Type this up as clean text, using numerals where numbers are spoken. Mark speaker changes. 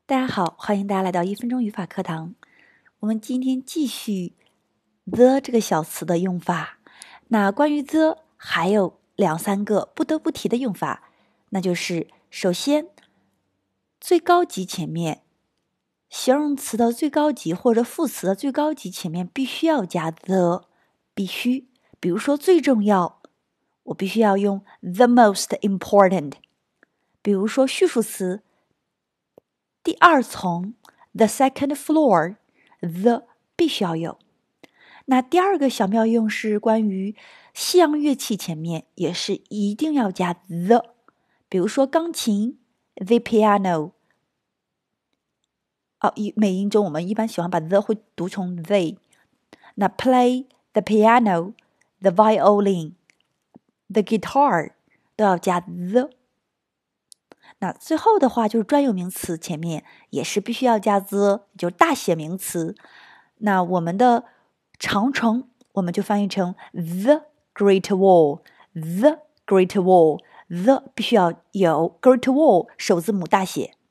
Speaker 1: 大家好，欢迎大家来到1分钟语法课堂。我们今天继续 the 这个小词的用法。那关于 the 还有2-3个不得不提的用法，那就是首先最高级前面，形容词的最高级或者副词的最高级前面必须要加 the， 必须。比如说最重要，我必须要用 the most important。比如说叙述词第二层 the second floor， the 必须要有。那第二个小妙用是关于西洋乐器前面也是一定要加 the。比如说钢琴 the piano， 美音中我们一般喜欢把 the 会读成 they。那 play the piano the violin the guitar 都要加 the。那最后的话就是专有名词前面也是必须要加 the， 就是大写名词。那我们的长城我们就翻译成 the Great Wall， the Great Wall， the 必须要有 Great Wall 首字母大写。